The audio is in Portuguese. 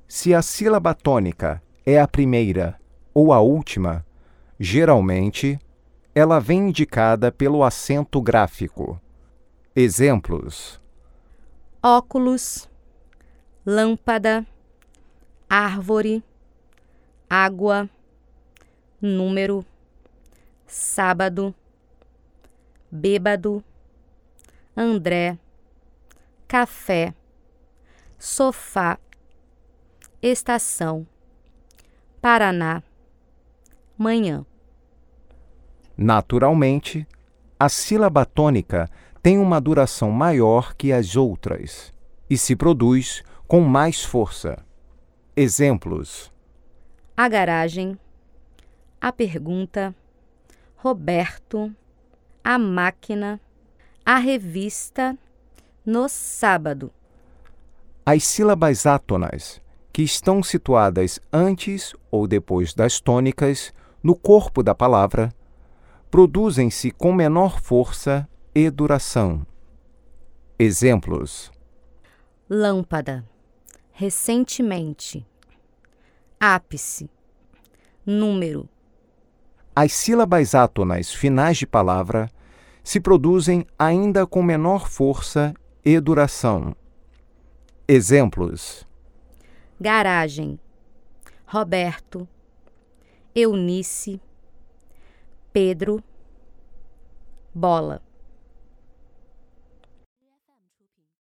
Se a sílaba tônica é a primeira ou a última, geralmente, ela vem indicada pelo acento gráfico. Exemplos: óculos, lâmpada, árvore, água, número, sábado, bêbado, André, café, sofá, estação, Paraná, manhã. Naturalmente, a sílaba tônica tem uma duração maior que as outras e se produz com mais força. Exemplos: A garagem, a pergunta, Roberto, a máquina, a revista, no sábado. as sílabas átonas, que estão situadas antes ou depois das tônicas no corpo da palavra, produzem-se com menor força e duração. Exemplos: Lâmpada, recentemente, ápice, número. as sílabas átonas finais de palavra se produzem ainda com menor força e duração. Exemplos: Garagem, Roberto, Eunice, Pedro, bola.